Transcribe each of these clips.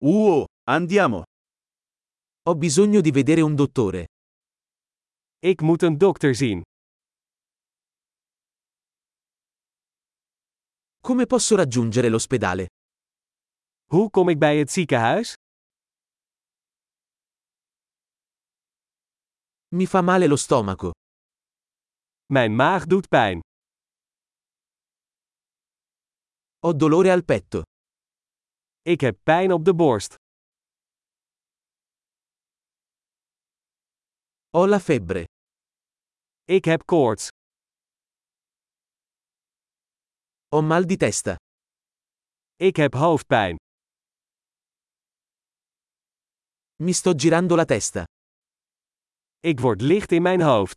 Andiamo. Ho bisogno di vedere un dottore. Ik moet een dokter zien. Come posso raggiungere l'ospedale? Hoe kom ik bij het ziekenhuis? Mi fa male lo stomaco. Mijn maag doet pijn. Ho dolore al petto. Ik heb pijn op de borst. Ho la febbre. Ik heb koorts. Ho mal di testa. Ik heb hoofdpijn. Mi sto girando la testa. Ik word licht in mijn hoofd.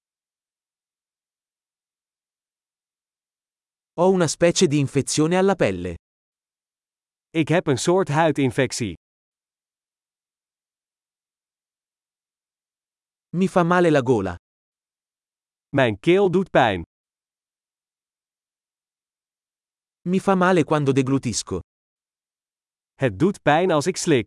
Ho una specie di infezione alla pelle. Ik heb een soort huidinfectie. Mi fa male la gola. Mijn keel doet pijn. Mi fa male quando deglutisco. Het doet pijn als ik slik.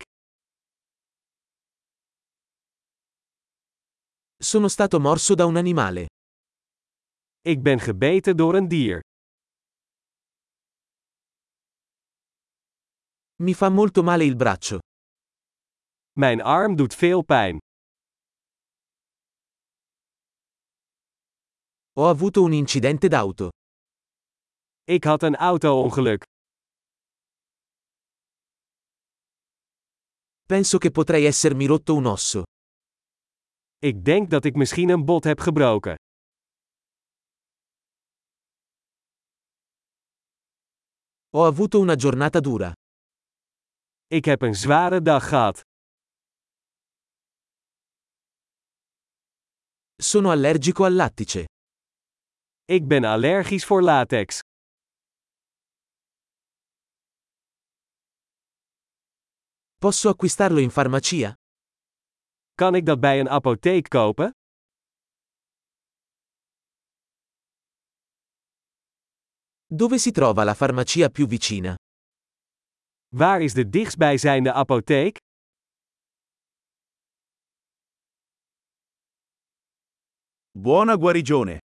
Sono stato morso da un animale. Ik ben gebeten door een dier. Mi fa molto male il braccio. Mijn arm doet veel pijn. Ho avuto un incidente d'auto. Ik had een auto-ongeluk. Penso che potrei essermi rotto un osso. Ik denk dat ik misschien een bot heb gebroken. Ho avuto una giornata dura. Ik heb een zware dag gehad. Sono allergico al lattice. Ik ben allergisch voor latex. Posso acquistarlo in farmacia? Kan ik dat bij een apotheek kopen? Dove si trova la farmacia più vicina? Waar is de dichtstbijzijnde apotheek? Buona guarigione.